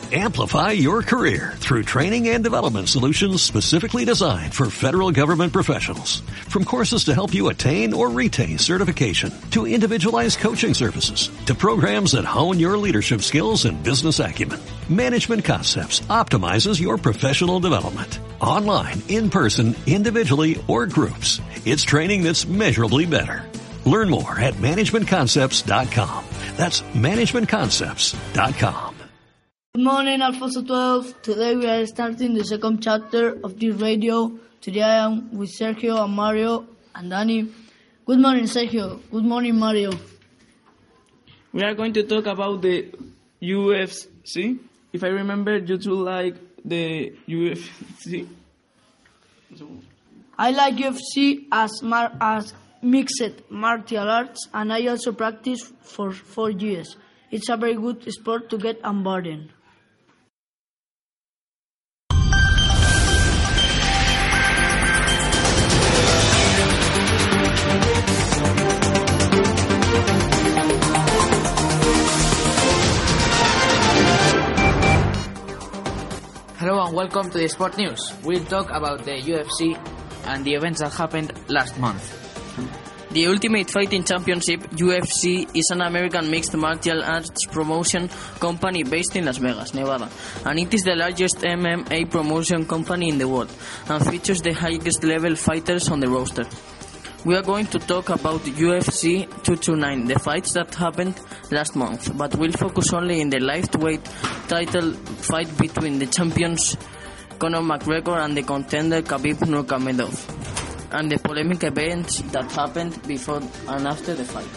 Amplify your career through training and development solutions specifically designed for federal government professionals. From courses to help you attain or retain certification, to individualized coaching services, to programs that hone your leadership skills and business acumen, Management Concepts optimizes your professional development. Online, in person, individually, or groups, it's training that's measurably better. Learn more at managementconcepts.com. That's managementconcepts.com. Good morning, Alfonso 12. Today we are starting the second chapter of this radio. Today I am with Sergio and Mario and Danny. Good morning, Sergio. Good morning, Mario. We are going to talk about the UFC. If I remember, you two like the UFC. I like UFC as mixed martial arts, and I also practice for 4 years. It's a very good sport to get on board in. Hello and welcome to the Sport News. We'll talk about the UFC and the events that happened last month. The Ultimate Fighting Championship, UFC, is an American mixed martial arts promotion company based in Las Vegas, Nevada, and it is the largest MMA promotion company in the world and features the highest level fighters on the roster. We are going to talk about UFC 229, the fights that happened last month, but we'll focus only in the lightweight title fight between the champions Conor McGregor and the contender Khabib Nurmagomedov, and the polemic events that happened before and after the fight.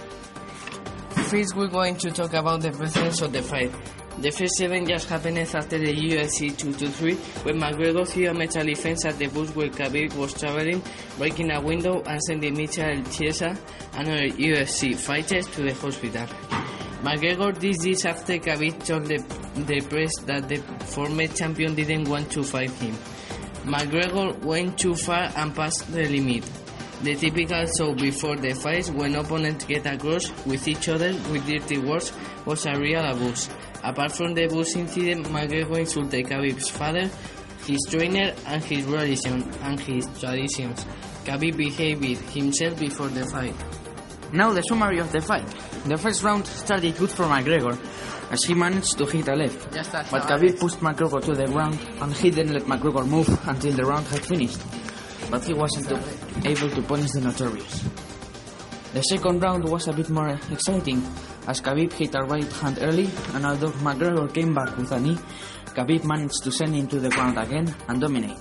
First, we're going to talk about the presence of the fight. The first event just happened after the UFC 223, when McGregor threw a metal defense at the bus where Khabib was traveling, breaking a window and sending Michael Chiesa, another UFC fighter, to the hospital. McGregor did this after Khabib told the press that the former champion didn't want to fight him. McGregor went too far and passed the limit. The typical show before the fights, when opponents get across with each other with dirty words, was a real abuse. Apart from the bus incident, McGregor insulted Khabib's father, his trainer, and his religion and his traditions. Khabib behaved himself before the fight. Now the summary of the fight. The first round started good for McGregor, as he managed to hit a left, but Khabib pushed McGregor to the ground and he didn't let McGregor move until the round had finished, but he wasn't able to punish the notorious. The second round was a bit more exciting, as Khabib hit a right hand early, and although McGregor came back with a knee, Khabib managed to send him to the ground again and dominate.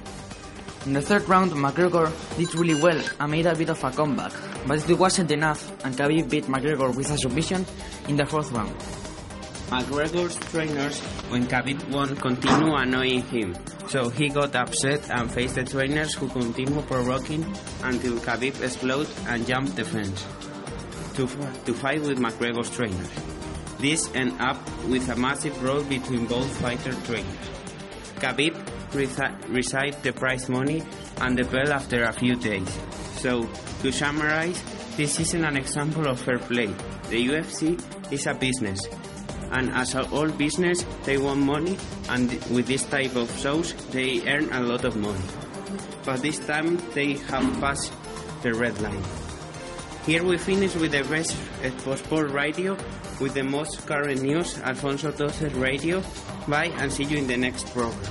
In the third round, McGregor did really well and made a bit of a comeback, but it wasn't enough, and Khabib beat McGregor with a submission in the fourth round. McGregor's trainers, when Khabib won, continued annoying him, so he got upset and faced the trainers, who continued provoking until Khabib exploded and jumped the fence to fight with McGregor's trainers. This ended up with a massive brawl between both fighter trainers. Khabib received the prize money and the belt after a few days. So, to summarize, this isn't an example of fair play. The UFC is a business, and as all business, they want money, and with this type of shows, they earn a lot of money. But this time, they have passed the red line. Here we finish with the best sport radio, with the most current news, Alfonso 12 Radio. Bye, and see you in the next program.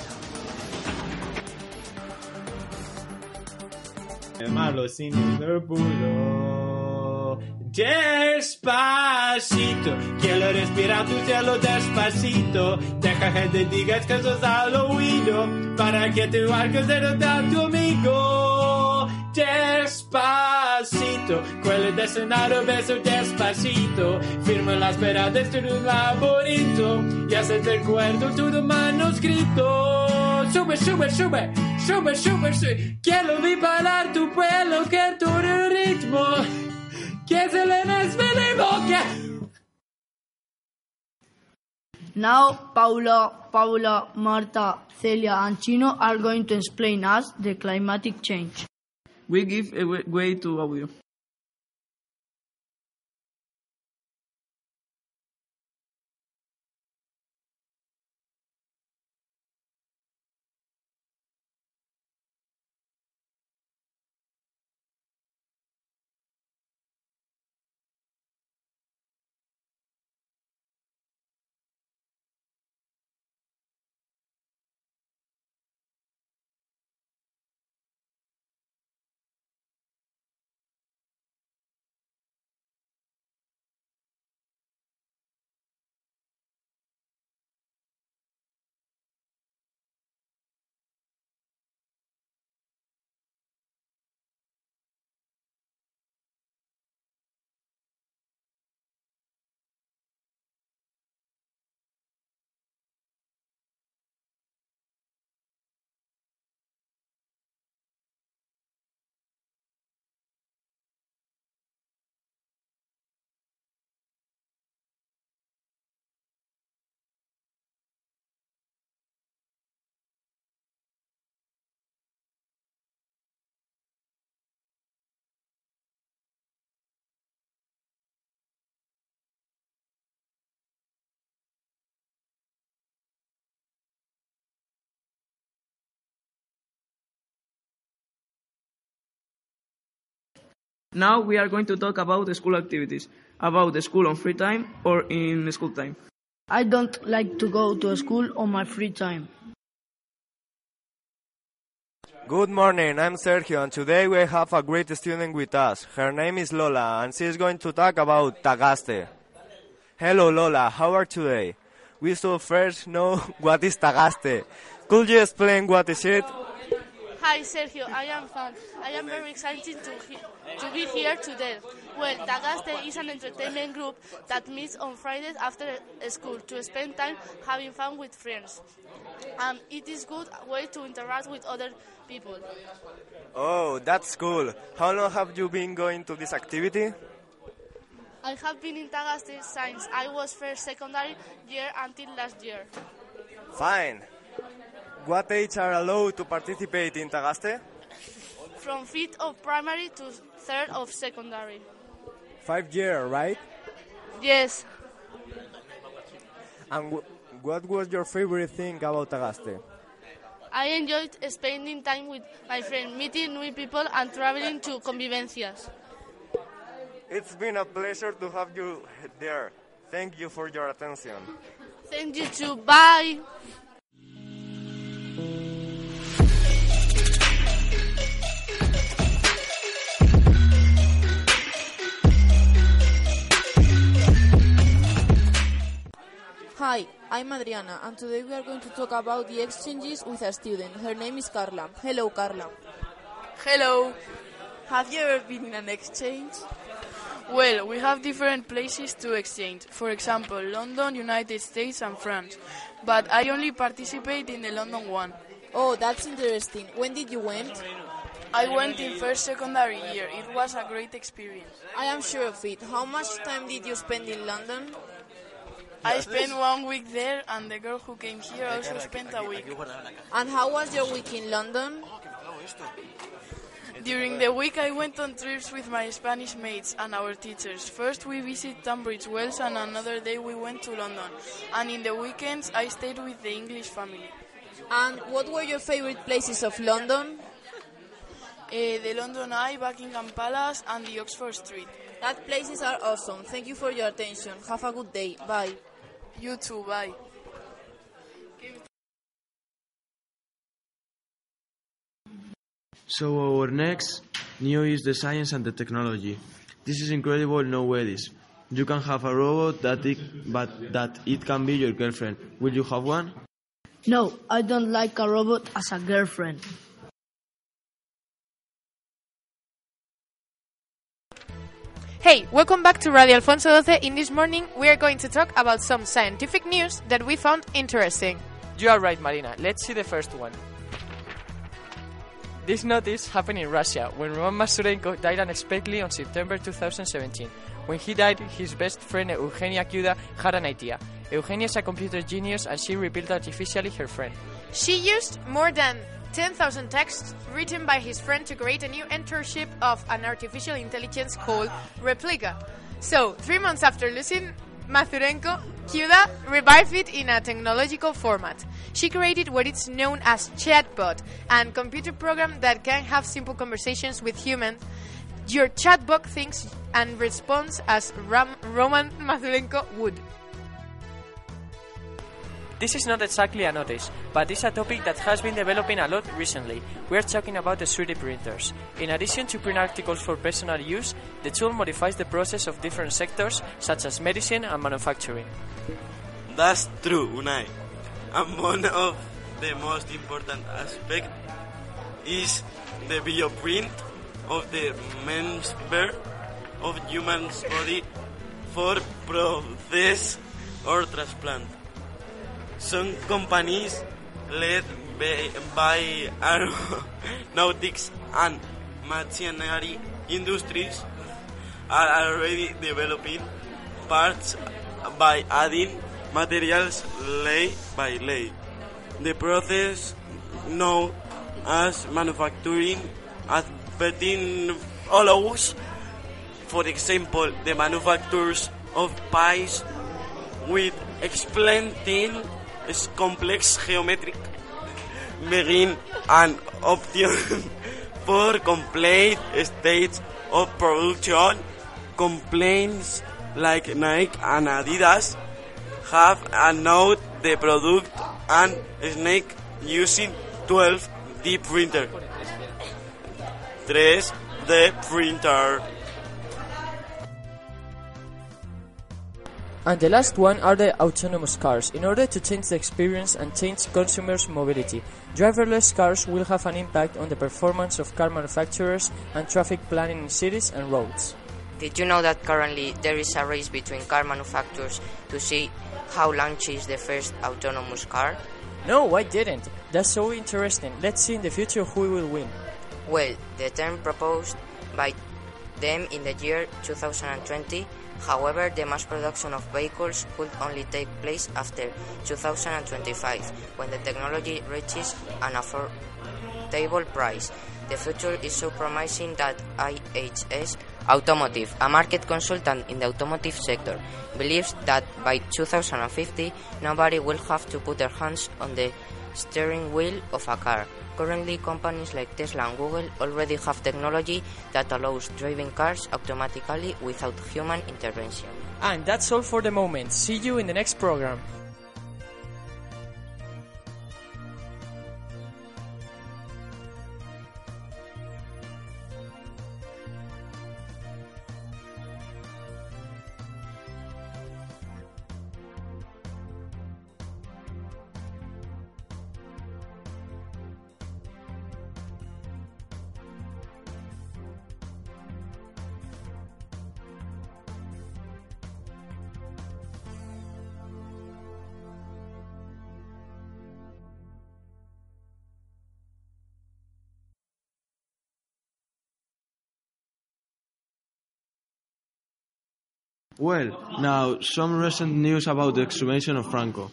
Malo sin el puro. Despacito, quiero respirar tu cielo despacito. Deja que te digas que sos al oído, para que tu barco se nota tu amigo. Despacito, quello del escenario beso despacito. Firmo la espera de un laberinto, y hace el recuerdo todo manuscrito. Sube, sube, sube, sube, sube, sube. Quiero disparar tu pelo, que tu ritmo, que se le desvele boca. Now, Paula, Marta, Celia, and Chino are going to explain us the climatic change. We give way to audio. Now we are going to talk about the school activities, about the school on free time or in school time. I don't like to go to school on my free time. Good morning, I'm Sergio, and today we have a great student with us. Her name is Lola, and she is going to talk about Tagaste. Hello Lola, how are you today? We should first know what is Tagaste. Could you explain what is it? Hi Sergio, I am fun. I am very excited to be here today. Well, Tagaste is an entertainment group that meets on Fridays after school to spend time having fun with friends. And it is a good way to interact with other people. Oh, that's cool. How long have you been going to this activity? I have been in Tagaste since I was first secondary year until last year. Fine. What age are allowed to participate in Tagaste? From 5th of primary to 3rd of secondary. 5 years, right? Yes. And what was your favorite thing about Tagaste? I enjoyed spending time with my friends, meeting new people and traveling to convivencias. It's been a pleasure to have you there. Thank you for your attention. Thank you too. Bye. Hi, I'm Adriana, and today we are going to talk about the exchanges with a student. Her name is Carla. Hello, Carla. Hello. Have you ever been in an exchange? Well, we have different places to exchange. For example, London, United States and France. But I only participate in the London one. Oh, that's interesting. When did you went? I went in first secondary year. It was a great experience. I am sure of it. How much time did you spend in London? I spent 1 week there, and the girl who came here also spent a week. And how was your week in London? During the week I went on trips with my Spanish mates and our teachers. First we visited Tunbridge Wells and another day we went to London. And in the weekends I stayed with the English family. And what were your favorite places of London? The London Eye, Buckingham Palace and the Oxford Street. That places are awesome. Thank you for your attention. Have a good day. Bye. You too, bye. So our next news is the science and the technology. This is incredible nowadays. You can have a robot that it can be your girlfriend. Will you have one? No, I don't like a robot as a girlfriend. Hey, welcome back to Radio Alfonso XII. In this morning, we are going to talk about some scientific news that we found interesting. You are right, Marina. Let's see the first one. This notice happened in Russia when Roman Masurenko died unexpectedly on September 2017. When he died, his best friend Eugenia Kyuda had an idea. Eugenia is a computer genius and she rebuilt artificially her friend. She used more than 10,000 texts written by his friend to create a new internship of an artificial intelligence called Replica. So, 3 months after losing Masurenko, Kyuda revived it in a technological format. She created what is known as chatbot, a computer program that can have simple conversations with humans. Your chatbot thinks and responds as Roman Masurenko would. This is not exactly a notice, but it's a topic that has been developing a lot recently. We are talking about the 3D printers. In addition to print articles for personal use, the tool modifies the process of different sectors, such as medicine and manufacturing. That's true, Unai. And one of the most important aspects is the bioprint of the member of human's body for process or transplant. Some companies led by aeronautics and machinery industries are already developing parts by adding materials layer by layer. The process known as manufacturing advertising allows, for example, the manufacturers of pies with explained complex geometric begin an option for complete state of production, companies like Nike and Adidas have announced the product and Snake using 12D printer. 3D printer. And the last one are the autonomous cars. In order to change the experience and change consumers' mobility, driverless cars will have an impact on the performance of car manufacturers and traffic planning in cities and roads. Did you know that currently there is a race between car manufacturers to see how launches the first autonomous car? No, I didn't. That's so interesting. Let's see in the future who will win. Well, the term proposed by them in the year 2020. However, the mass production of vehicles could only take place after 2025, when the technology reaches an affordable price. The future is so promising that IHS Automotive, a market consultant in the automotive sector, believes that by 2050, nobody will have to put their hands on the steering wheel of a car. Currently, companies like Tesla and Google already have technology that allows driving cars automatically without human intervention. And that's all for the moment. See you in the next program. Well, now some recent news about the exhumation of Franco.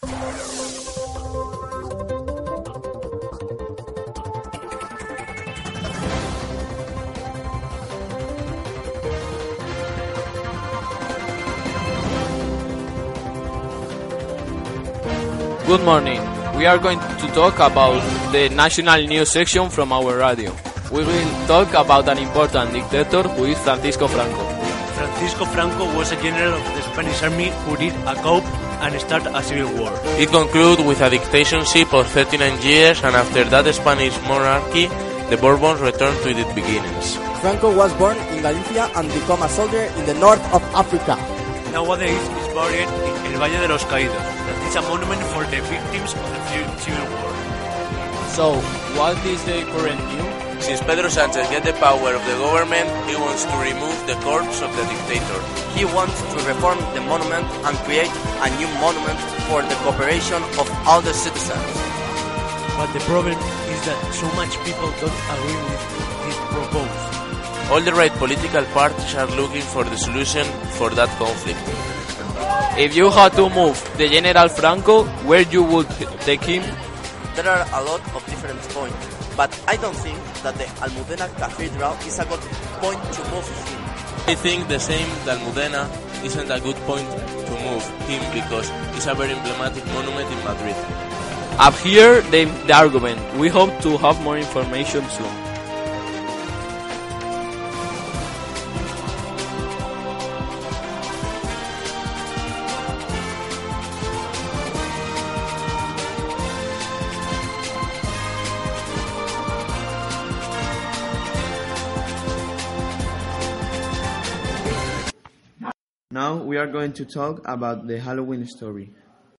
Good morning. We are going to talk about the national news section from our radio. We will talk about an important dictator who is Francisco Franco. Francisco Franco was a general of the Spanish army who did a coup and start a civil war. It concluded with a dictatorship of 39 years, and after that the Spanish monarchy, the Bourbons returned to its beginnings. Franco was born in Galicia and became a soldier in the north of Africa. Nowadays he is buried in El Valle de los Caídos. That is a monument for the victims of the civil war. So, what is the current news? Since Pedro Sánchez get the power of the government, he wants to remove the corpse of the dictator. He wants to reform the monument and create a new monument for the cooperation of all the citizens. But the problem is that so much people don't agree with this proposal. All the right political parties are looking for the solution for that conflict. If you had to move the General Franco, where you would take him? There are a lot of different points, but I don't think that the Almudena Cathedral is a good point to move him. I think the same that Almudena isn't a good point to move him because it's a very emblematic monument in Madrid. Up here, the argument. We hope to have more information soon. Now we are going to talk about the Halloween story.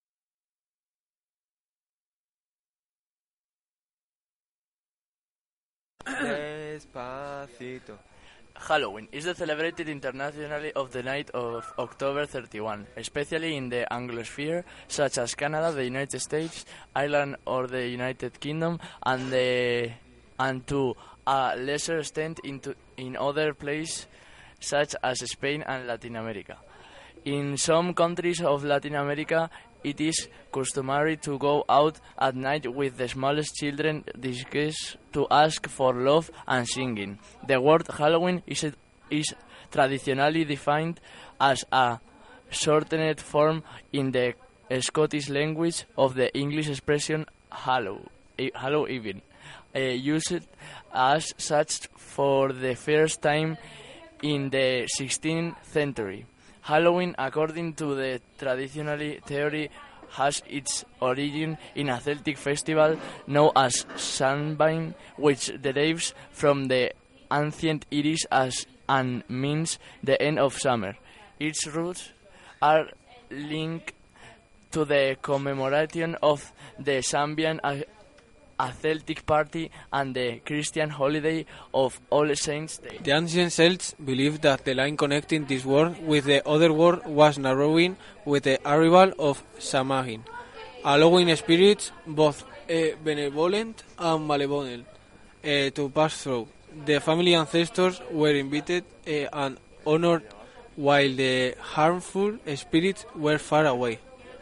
Despacito. Halloween is celebrated internationally of the night of October 31, especially in the Anglosphere, such as Canada, the United States, Ireland or the United Kingdom, and to a lesser extent in other places such as Spain and Latin America. In some countries of Latin America, it is customary to go out at night with the smallest children disguised to ask for love and singing. The word Halloween is traditionally defined as a shortened form in the Scottish language of the English expression Hallow Even. used as such for the first time in the 16th century. Halloween, according to the traditional theory, has its origin in a Celtic festival known as Samhain, which derives from the ancient Irish and means the end of summer. Its roots are linked to the commemoration of the Samhain, a Celtic party, and the Christian holiday of All Saints' Day. The ancient Celts believed that the line connecting this world with the other world was narrowing with the arrival of Samhain, allowing spirits, both benevolent and malevolent, to pass through. The family ancestors were invited and honored, while the harmful spirits were far away.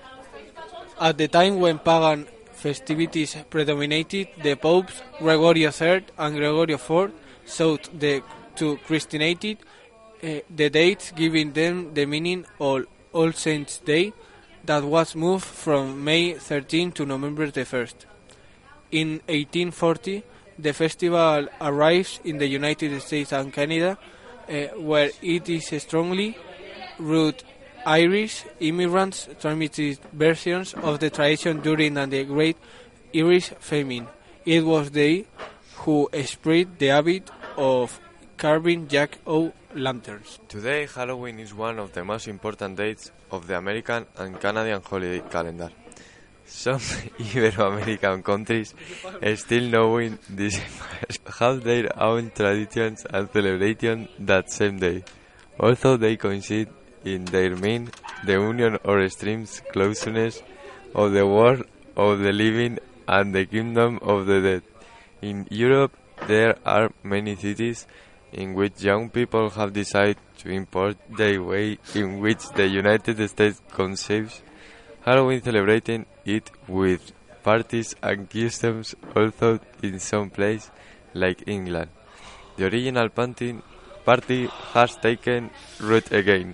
At the time when pagan festivities predominated, the popes Gregory III and Gregory IV sought to Christianate the dates, giving them the meaning of All Saints' Day, that was moved from May 13 to November 1st. In 1840, the festival arrives in the United States and Canada, where it is strongly rooted Irish immigrants transmitted versions of the tradition during the Great Irish Famine. It was they who spread the habit of carving jack-o'-lanterns. Today, Halloween is one of the most important dates of the American and Canadian holiday calendar. Some Ibero-American countries, still knowing this, have their own traditions and celebrations that same day, although they coincide in their mean, the union or extreme closeness of the world of the living and the kingdom of the dead. In Europe, there are many cities in which young people have decided to import the way in which the United States conceives Halloween, celebrating it with parties and customs, although in some places like England, the original party has taken root again.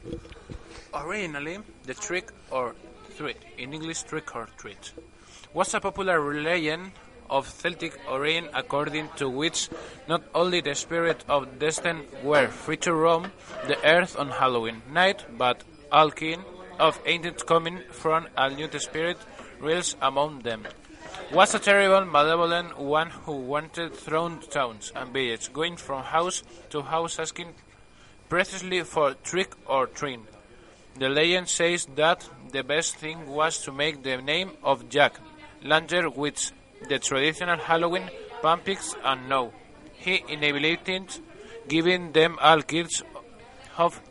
Originally, the trick or treat, in English trick or treat, was a popular legend of Celtic origin, according to which not only the spirit of destiny were free to roam the earth on Halloween night, but all kin of ancient coming from a new spirit reels among them. Was a terrible, malevolent one who wanted thrown towns and villages, going from house to house asking precisely for trick or treat. The legend says that the best thing was to make the name of Jack Lantern with the traditional Halloween pumpkins, and now he inhabited, giving them all kids of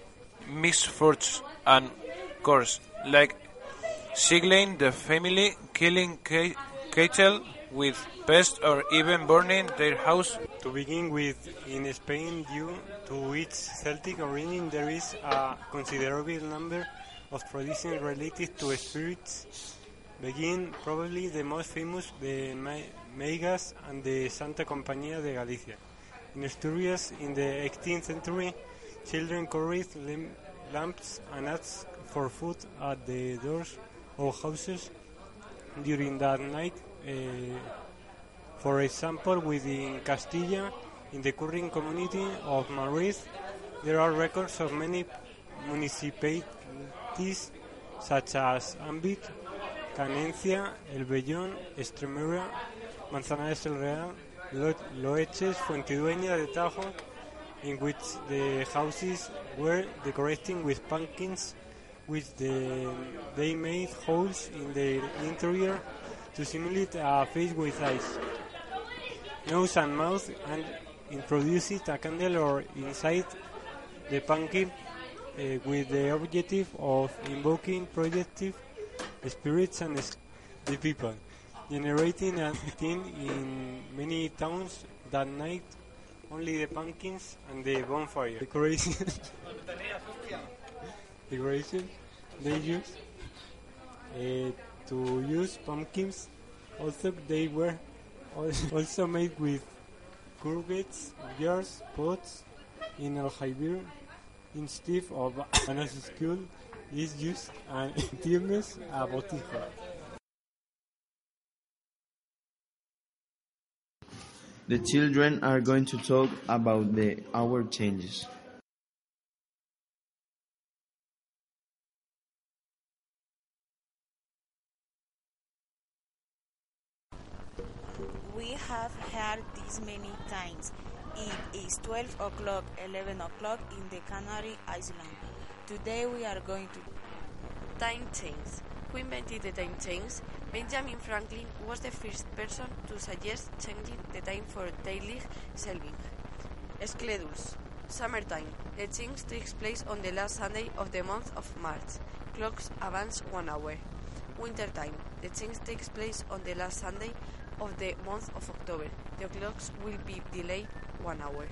misfortune and curse, like sigling the family, killing cattle with pests, or even burning their house. To begin with, in Spain, due to its Celtic origin, there is a considerable number of traditions related to spirits. Begin probably the most famous, the Meigas and the Santa Compañía de Galicia. In Asturias, in the 18th century, children carried lamps and asked for food at the doors of houses during that night. For example, within Castilla, in the current community of Madrid, there are records of many municipalities such as Ambit, Canencia, El Vellón, Extremadura, Manzanares el Real, Loeches, Fuentidueña de Tajo, in which the houses were decorated with pumpkins, which they made holes in the interior to simulate a face with eyes, nose and mouth, and introduced a candle or inside the pumpkin with the objective of invoking projective spirits and the people, generating a thing in many towns that night. Only the pumpkins and the bonfire decoration they use to use pumpkins. Also, they were also made with curvets, jars, pots in aljibe instead of an school is used and tienes a botija. The children are going to talk about the hour changes. We have heard this many times. It is 12 o'clock, 11 o'clock in the Canary Islands. Today we are going to time change. Who invented the time change? Benjamin Franklin was the first person to suggest changing the time for daily shelving. Schedules. Summertime. The change takes place on the last Sunday of the month of March. Clocks advance 1 hour. Wintertime. The change takes place on the last Sunday of the month of October. The clocks will be delayed 1 hour.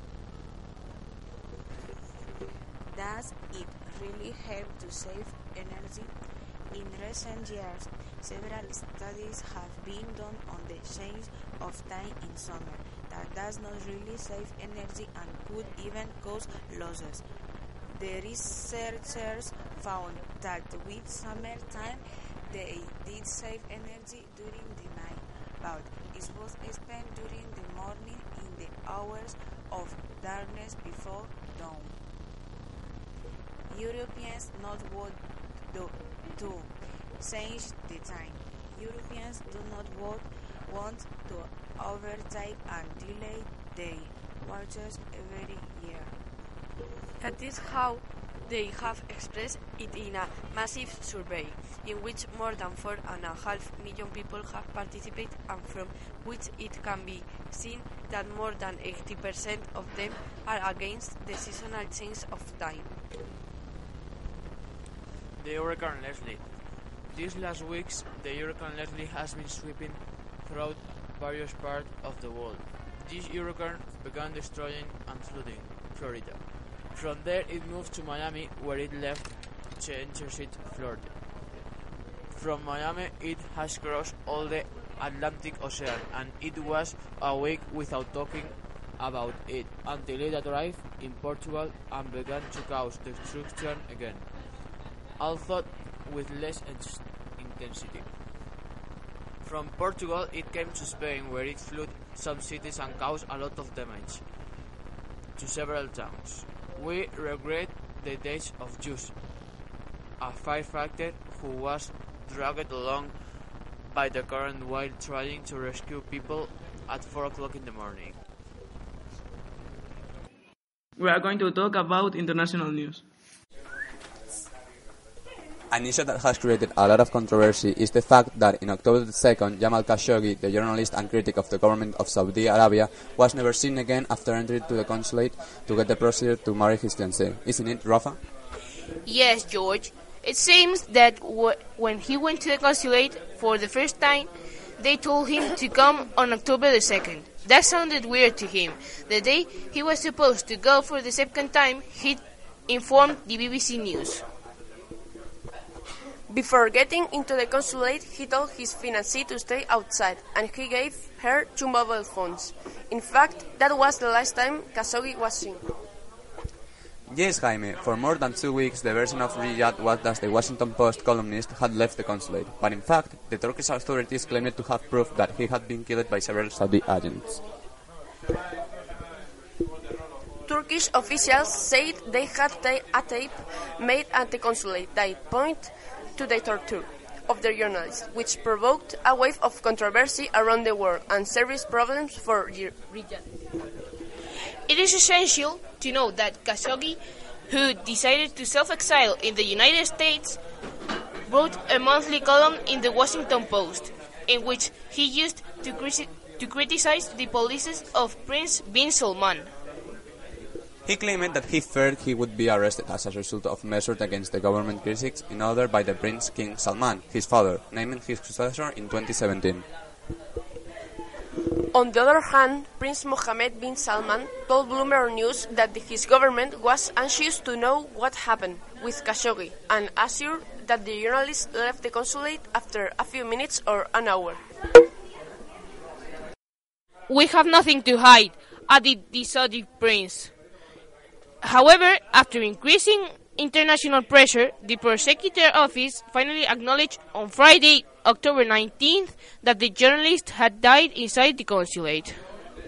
Does it really help to save energy? In recent years, several studies have been done on the change of time in summer that does not really save energy and could even cause losses. The researchers found that with summertime, they did save energy during the night, but it was spent during the morning in the hours of darkness before dawn. Europeans not want to change the time. Europeans do not want to overtake and delay their watches every year. That is how they have expressed it in a massive survey, in which more than 4.5 million people have participated, and from which it can be seen that more than 80% of them are against the seasonal change of time. The Hurricane Leslie. These last weeks, the Hurricane Leslie has been sweeping throughout various parts of the world. This hurricane began destroying and flooding Florida. From there, it moved to Miami, where it left to interstate Florida. From Miami, it has crossed all the Atlantic Ocean, and it was a week without talking about it until it arrived in Portugal and began to cause destruction again, although with less intensity. From Portugal, it came to Spain, where it flooded some cities and caused a lot of damage to several towns. We regret the death of Jus, a firefighter who was dragged along by the current while trying to rescue people at 4 o'clock in the morning. We are going to talk about international news. An issue that has created a lot of controversy is the fact that in October 2nd, Jamal Khashoggi, the journalist and critic of the government of Saudi Arabia, was never seen again after entering to the consulate to get the procedure to marry his fiancée. Isn't it, Rafa? Yes, George. It seems that when he went to the consulate for the first time, they told him to come on October the 2nd. That sounded weird to him. The day he was supposed to go for the second time, he informed the BBC News. Before getting into the consulate, he told his fiancée to stay outside, and he gave her 2 mobile phones. In fact, that was the last time Khashoggi was seen. Yes, Jaime. For more than 2 weeks, the version of Riyadh was that the Washington Post columnist had left the consulate. But in fact, the Turkish authorities claimed to have proof that he had been killed by several Saudi agents. Turkish officials said they had a tape made at the consulate that pointed to the torture of the journalists, which provoked a wave of controversy around the world and serious problems for Riyadh. It is essential to know that Khashoggi, who decided to self-exile in the United States, wrote a monthly column in the Washington Post, in which he used to criticize the policies of Prince bin Salman. He claimed that he feared he would be arrested as a result of measures against the government critics in order by the Prince King Salman, his father, naming his successor in 2017. On the other hand, Prince Mohammed bin Salman told Bloomberg News that his government was anxious to know what happened with Khashoggi and assured that the journalist left the consulate after a few minutes or an hour. We have nothing to hide, added the Saudi prince. However, after increasing international pressure, the prosecutor office finally acknowledged on Friday, October 19th, that the journalist had died inside the consulate.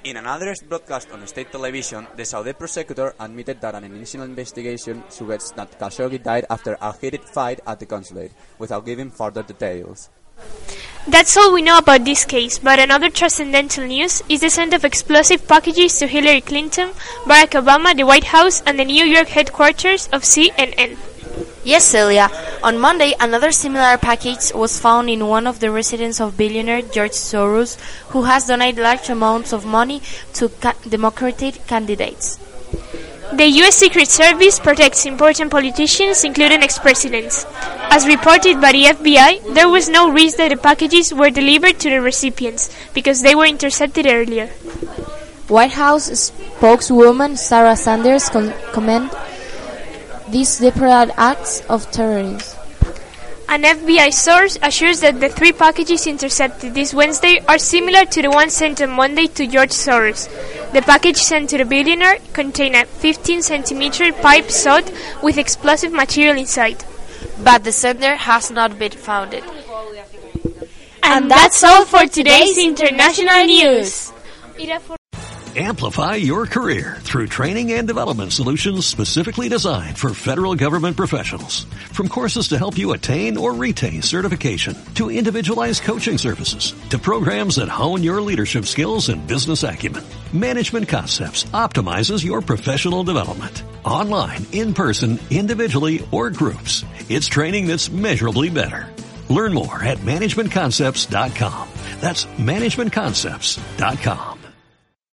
In another broadcast on state television, the Saudi prosecutor admitted that an initial investigation suggests that Khashoggi died after a heated fight at the consulate, without giving further details. That's all we know about this case, but another transcendental news is the send of explosive packages to Hillary Clinton, Barack Obama, the White House, and the New York headquarters of CNN. Yes, Celia. On Monday, another similar package was found in one of the residences of billionaire George Soros, who has donated large amounts of money to Democratic candidates. The U.S. Secret Service protects important politicians, including ex-presidents. As reported by the FBI, there was no risk that the packages were delivered to the recipients, because they were intercepted earlier. White House spokeswoman Sarah Sanders commended these deliberate acts of terrorism. An FBI source assures that the 3 packages intercepted this Wednesday are similar to the one sent on Monday to George Soros. The package sent to the billionaire contained a 15-centimeter pipe sewed with explosive material inside. But the sender has not been found. And that's all for today's international news. Amplify your career through training and development solutions specifically designed for federal government professionals. From courses to help you attain or retain certification, to individualized coaching services, to programs that hone your leadership skills and business acumen, Management Concepts optimizes your professional development. Online, in person, individually, or groups, it's training that's measurably better. Learn more at managementconcepts.com. That's managementconcepts.com.